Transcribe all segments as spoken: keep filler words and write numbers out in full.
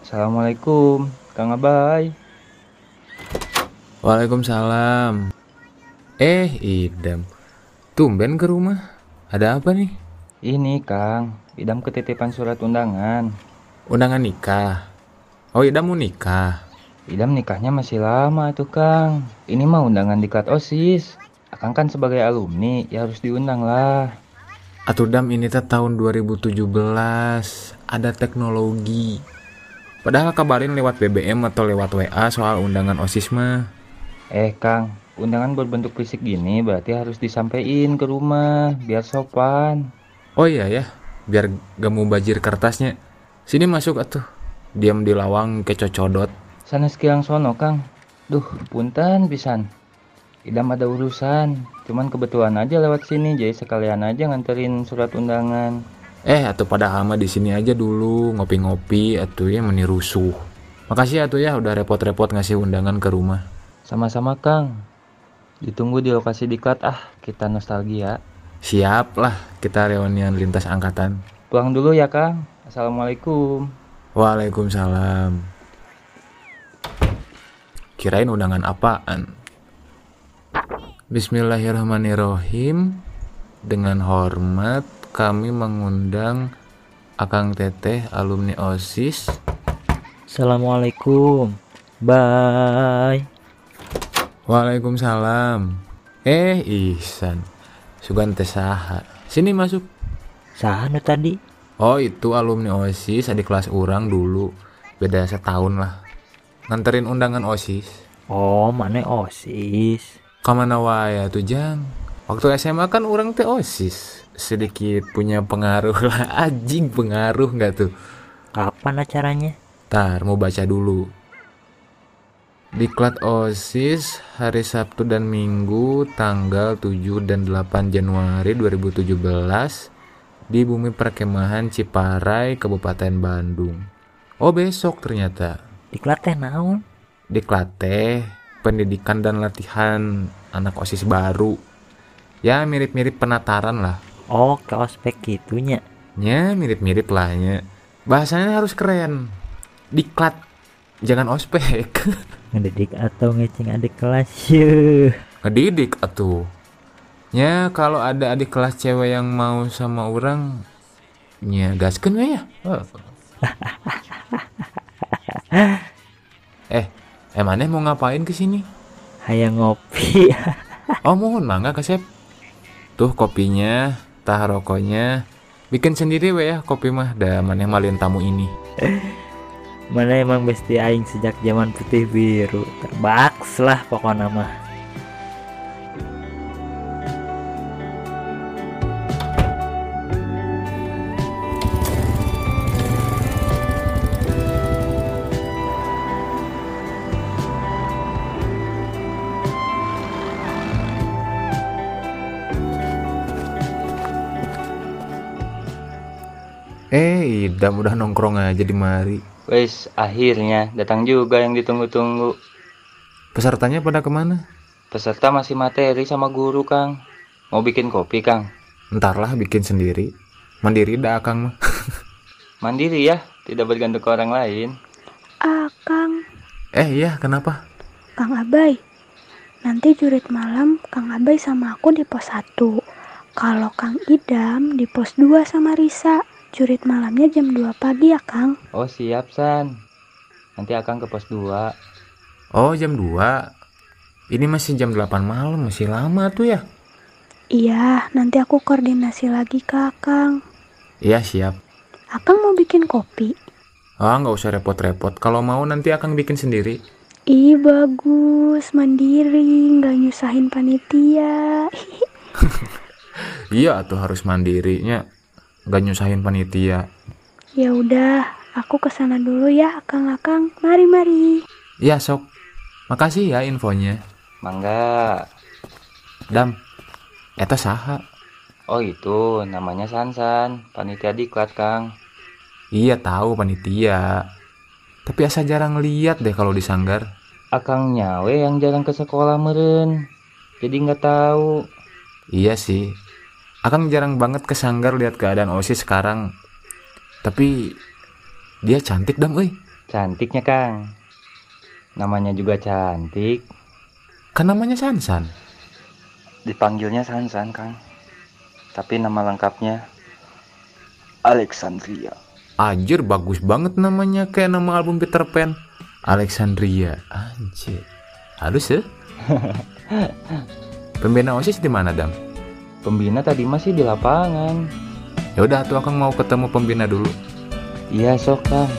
Assalamualaikum, Kang Abay. Waalaikumsalam. Eh, Idam. Tumben ke rumah. Ada apa nih? Ini Kang, Idam ketitipan surat undangan. Undangan nikah. Oh, Idam mau nikah. Idam nikahnya masih lama tuh Kang. Ini mah undangan diklat OSIS. Akang kan sebagai alumni, ya harus diundang lah. Atuh Dam, ini teh tahun dua ribu tujuh belas. Ada teknologi. Padahal kabarin lewat B B M atau lewat W A soal undangan OSIS mah. Eh Kang, undangan berbentuk fisik gini berarti harus disampaikan ke rumah, biar sopan. Oh iya ya, biar gak mau bajir kertasnya. Sini masuk atuh. Diam di lawang kecocodot. Sana sekilang sono Kang. Duh, punten pisan. Idam ada urusan, cuman kebetulan aja lewat sini, jadi sekalian aja nganterin surat undangan. Eh, atuh pada ama di sini aja dulu ngopi-ngopi atuh ya meni rusuh. Makasih atuh ya udah repot-repot ngasih undangan ke rumah. Sama-sama Kang. Ditunggu di lokasi diklat ah, kita nostalgia. Siap lah, kita reunian lintas angkatan. Pulang dulu ya Kang. Assalamualaikum. Waalaikumsalam. Kirain undangan apaan? Bismillahirrahmanirrahim. Dengan hormat kami mengundang Akang Teteh alumni OSIS. Assalamualaikum. Bye. Waalaikumsalam. Eh, Ihsan. Sugan teh saha. Sini masuk. Saha nu tadi? Oh, itu alumni OSIS, adik kelas urang dulu. Beda setahun lah. Nganterin undangan OSIS. Oh, mana OSIS? Kamana wae tuh Jang? Waktu S M A kan urang teh OSIS. Sedikit punya pengaruh lah. Anjing pengaruh nggak tuh? Kapan acaranya? Tar, mau baca dulu. Diklat OSIS hari Sabtu dan Minggu tanggal tujuh dan delapan Januari dua ribu tujuh belas di Bumi Perkemahan Ciparai, Kabupaten Bandung. Oh, besok ternyata. Diklat teh naon? Diklat teh pendidikan dan latihan anak OSIS baru. Ya mirip-mirip penataran lah. Oh, ke ospek gitunya. Ya mirip-mirip lah nya. Bahasanya harus keren. Diklat, jangan ospek. Ngedidik atau ngeceng adik kelas yuh. Ngedidik atuh. Ya kalau ada adik kelas cewek yang mau sama orang, ya gaskeun we ya. Oh. eh, emangnya mau ngapain kesini? Hayang ngopi. Oh mohon mangga kasep. Tuh kopinya, tah rokoknya. Bikin sendiri we ya kopi mah, da maneh malin tamu ini. Mana emang besti aing sejak zaman putih biru. Terbaks lah pokoknya mah. Eh, Idam udah nongkrong aja di mari. Wes, akhirnya datang juga yang ditunggu-tunggu. Pesertanya pada kemana? Peserta masih materi sama guru Kang. Mau bikin kopi Kang? Entarlah bikin sendiri. Mandiri dah Akang mah. Mandiri ya, tidak bergantung ke orang lain. Ah, Kang. Eh iya, kenapa? Kang Abay. Nanti jurit malam Kang Abay sama aku di pos satu. Kalau Kang Idam di pos dua sama Risa. Jurit malamnya jam dua pagi ya Kang. Oh siap San. Nanti Akang ke pos dua. Oh jam dua. Ini masih jam delapan malam, masih lama tuh ya. Iya, nanti aku koordinasi lagi ke Akang. Iya siap. Akang mau bikin kopi? Ah nggak usah repot-repot. Kalau mau nanti Akang bikin sendiri. Ih bagus, mandiri, nggak nyusahin panitia. Iya tuh harus mandirinya. Gak nyusahin panitia. Ya udah, aku kesana dulu ya, akang-akang. Mari mari. Iya sok. Makasih ya infonya. Mangga. Dam, eta saha? Oh itu namanya Sansan, panitia diklat Kang. Iya tahu panitia. Tapi asa jarang lihat deh kalau di sanggar. Akang nyawe yang jarang ke sekolah meren. Jadi nggak tahu. Iya sih. Akang jarang banget ke sanggar lihat keadaan OSIS sekarang. Tapi dia cantik Dam euy. Cantiknya Kang. Namanya juga cantik. Kan namanya Sansan. Dipanggilnya Sansan Kang. Tapi nama lengkapnya Alexandria. Anjir, bagus banget namanya, kayak nama album Peter Pan. Alexandria. Anjir. Halus ya? Pembina OSIS di mana, Dam? Pembina tadi masih di lapangan. Ya udah tuh, Akang mau ketemu pembina dulu. Iya sok Kang.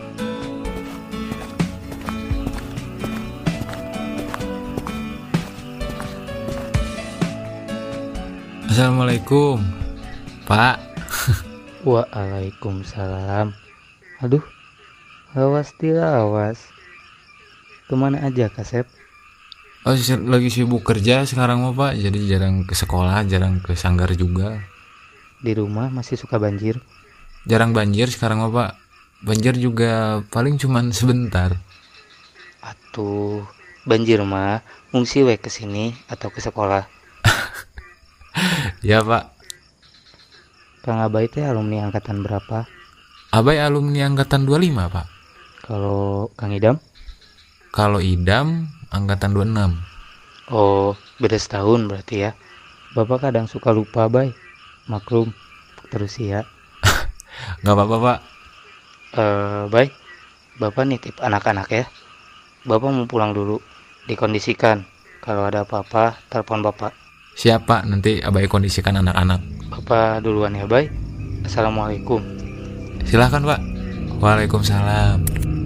Assalamualaikum, Pak. Waalaikumsalam. Aduh, awas dilawas. Kemana aja Kasep? Oh, lagi sibuk kerja sekarang mah, Pak. Jadi jarang ke sekolah, jarang ke sanggar juga. Di rumah masih suka banjir? Jarang banjir sekarang mah, Pak. Banjir juga paling cuman sebentar. Atuh, banjir mah ngungsi we ke sini atau ke sekolah. Ya, Pak. Kang Abai teh alumni angkatan berapa? Abai alumni angkatan dua puluh lima, Pak. Kalau Kang Idam? Kalau Idam angkatan dua puluh enam. Oh, beda setahun berarti ya. Bapak kadang suka lupa, Bay. Maklum, terus ya. Gak apa-apa, Pak. Eh, Bay, Bapak nitip anak-anak ya. Bapak mau pulang dulu. Dikondisikan. Kalau ada apa-apa, telepon Bapak. Siapa? Nanti Abai kondisikan anak-anak. Bapak duluan ya, Bay. Assalamualaikum. Silahkan, Pak. Waalaikumsalam.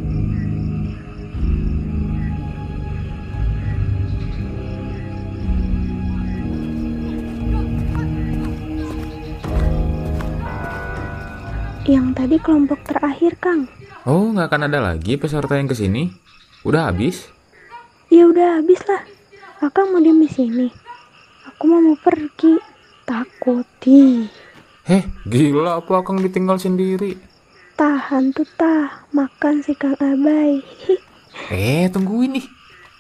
Yang tadi kelompok terakhir, Kang. Oh, nggak akan ada lagi peserta yang kesini? Udah habis? Ya udah habis lah. Akang mau diem di sini. Aku mau mau pergi. Takut. Ih. Heh, gila apa Akang ditinggal sendiri? Tahan tuh tah. Makan si Kang Abai. Eh, tungguin nih.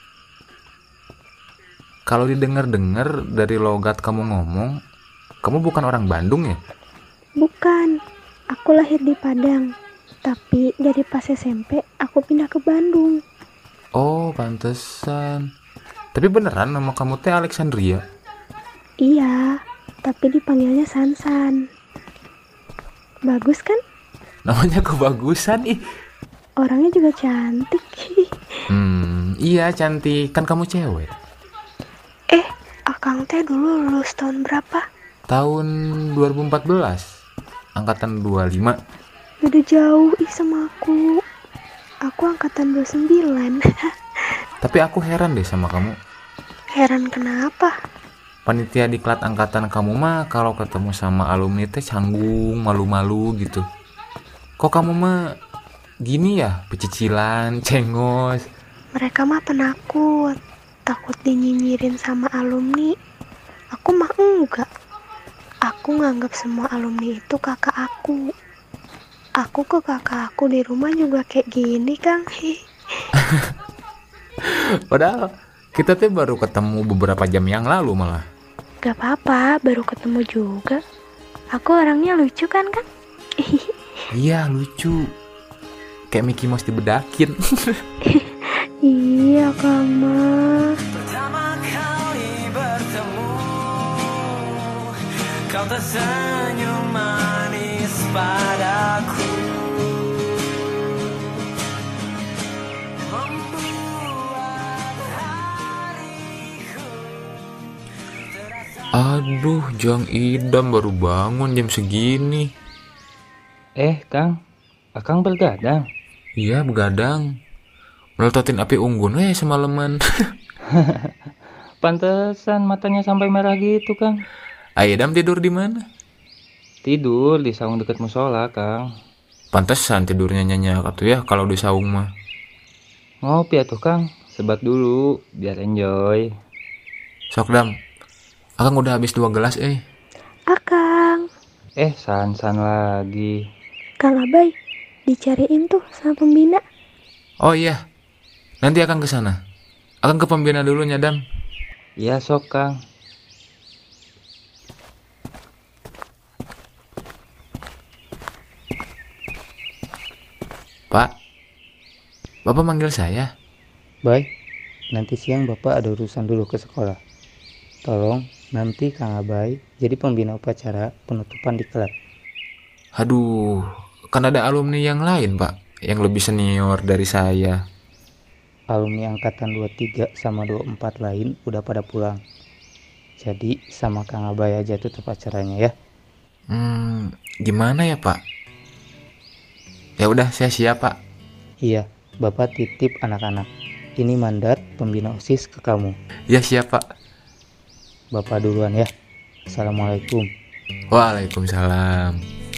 Kalau didengar-dengar dari logat kamu ngomong, kamu bukan orang Bandung ya? Bukan. Aku lahir di Padang. Tapi dari pas S M P aku pindah ke Bandung. Oh, pantesan. Tapi beneran nama kamu teh Alexandria? Iya, tapi dipanggilnya Sansan. Bagus kan? Namanya kebagusan ih. Orangnya juga cantik. Hmm, iya cantik. Kan kamu cewek. Eh, Akang teh dulu lulus tahun berapa? Tahun dua ribu empat belas. Angkatan dua puluh lima. Udah jauh ih sama aku. Aku angkatan dua puluh sembilan. Tapi aku heran deh sama kamu. Heran kenapa? Panitia diklat angkatan kamu mah kalau ketemu sama alumni teh canggung, malu-malu gitu. Kok kamu mah gini ya, pecicilan, cengos. Mereka mah penakut. Takut dinyinyirin sama alumni. Aku mah enggak. Aku nganggap semua alumni itu kakak aku. Aku ke kakak aku di rumah juga kayak gini, Kang. Padahal kita tuh baru ketemu beberapa jam yang lalu malah. Gak apa-apa, baru ketemu juga. Aku orangnya lucu kan, Kang? Iya, lucu. Kayak Mickey Mouse dibedakin. Iya, Kang mah. Pertama kali bertemu, kau tersenyum manis padaku. Aduh, Jang Idam baru bangun jam segini. Eh, Kang. Akang bergadang. Iya, begadang. Melototin api unggun eh semalaman. Pantesan matanya sampai merah gitu, Kang. Idam tidur di mana? Tidur di saung dekat musola, Kang. Pantesan tidurnya nyenyak atuh ya kalau di saung mah. Ngopi atuh, Kang. Sebat dulu biar enjoy. Sok Dam. Akang udah habis dua gelas eh. Akang. Eh, Sansan lagi. Kang Abai, dicariin tuh sama pembina. Oh iya. Nanti Akang ke sana. Akang ke pembina dulu nya Dam. Iya, sok, Kang. Pak. Bapak manggil saya? Baik, nanti siang Bapak ada urusan dulu ke sekolah. Tolong nanti Kang Abai jadi pembina upacara penutupan di klub. Aduh, kan ada alumni yang lain, Pak, yang lebih senior dari saya. Alumni angkatan dua puluh tiga sama dua puluh empat lain udah pada pulang. Jadi sama Kang Abai aja tutup acaranya ya. Hmm, gimana ya, Pak? Ya udah, saya siap, Pak. Iya, Bapak titip anak-anak. Ini mandat pembina OSIS ke kamu. Ya siap, Pak. Bapak duluan ya. Assalamualaikum. Waalaikumsalam.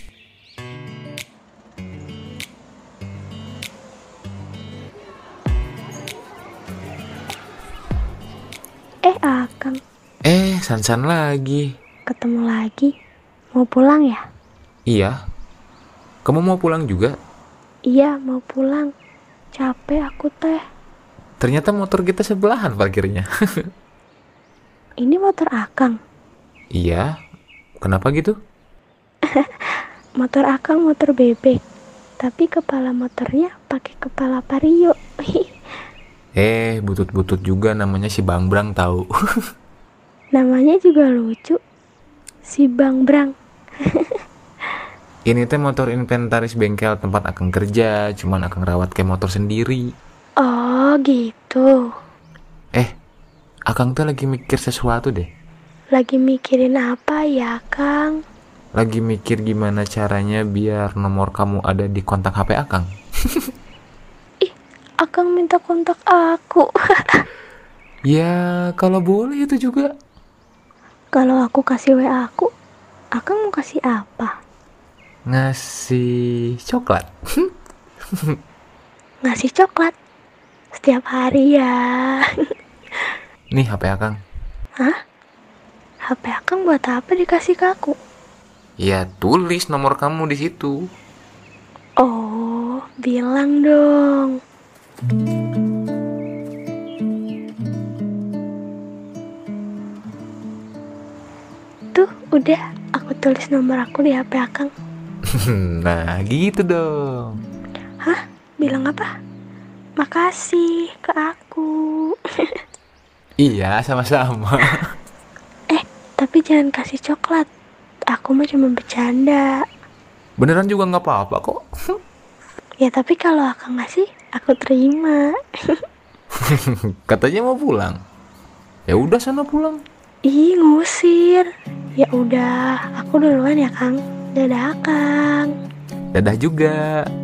Eh, Akang, Eh, Sansan lagi. ketemu lagi. Mau pulang ya? Iya. Kamu mau pulang juga? Iya, mau pulang. Capek aku teh. Ternyata motor kita sebelahan parkirnya. Ini motor Akang. Iya. Kenapa gitu? Motor Akang motor bebek. Tapi kepala motornya pakai kepala Vario. Eh, butut-butut juga namanya si Bangbrang tahu. Namanya juga lucu. Si Bang Brang. Ini teh motor inventaris bengkel tempat Akang kerja, cuman Akang rawat kayak motor sendiri. Oh, gitu. Eh, Akang tuh lagi mikir sesuatu deh. Lagi mikirin apa ya, Kang? Lagi mikir gimana caranya biar nomor kamu ada di kontak H P Akang. Akang minta kontak aku. Ya, kalau boleh itu juga. Kalau aku kasih W A aku, Akang mau kasih apa? Ngasih coklat. Ngasih coklat. Setiap hari ya. Nih H P Akang. Hah? H P Akang buat apa dikasih ke aku? Ya, tulis nomor kamu di situ. Oh, bilang dong. Tuh, udah. Aku tulis nomor aku di H P Akang. Nah, gitu dong. Hah? Bilang apa? Makasih ke aku. Iya, sama-sama. Eh, tapi jangan kasih coklat. Aku mah cuma bercanda. Beneran juga nggak apa-apa kok. Ya tapi kalau Akang ngasih, aku terima. Katanya mau pulang. Ya udah sana pulang. Ih, ngusir. Ya udah, aku duluan ya, Kang. Dadah, Kang. Dadah juga.